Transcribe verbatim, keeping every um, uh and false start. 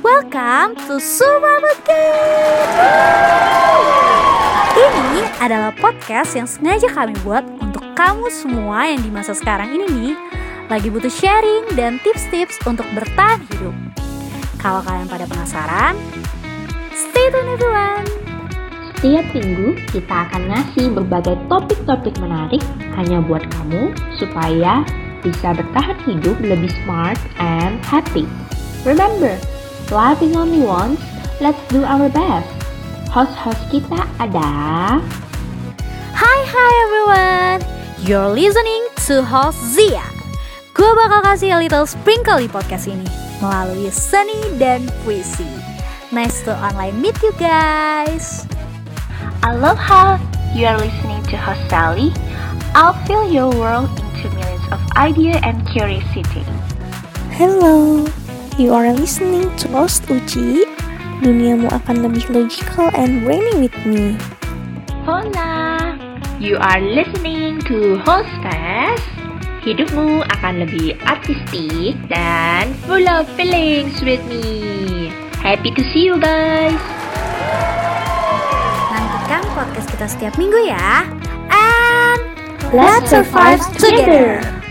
Welcome to Survival Game. Ini adalah podcast yang sengaja kami buat untuk kamu semua yang di masa sekarang ini nih lagi butuh sharing dan tips-tips untuk bertahan hidup. Kalau kalian pada penasaran, stay tune everyone. Setiap minggu kita akan ngasih berbagai topik-topik menarik hanya buat kamu supaya bisa bertahan hidup lebih smart and happy. Remember, life is only once, let's do our best. Host-host kita ada... Hai hai everyone, you're listening to host Zia. Gue bakal kasih a little sprinkle di podcast ini melalui seni dan puisi. Nice to online meet you guys. Aloha, you are listening to host Sally. I'll fill your world into millions of idea and curiosity. Hello, you are listening to host Uci. Duniamu akan lebih logical and brainy with me. Hola, you are listening to host Fest. Hidupmu akan lebih artistik dan full of feelings with me. Happy to see you guys. Nantikan podcast kita setiap minggu ya. And Let's survive together.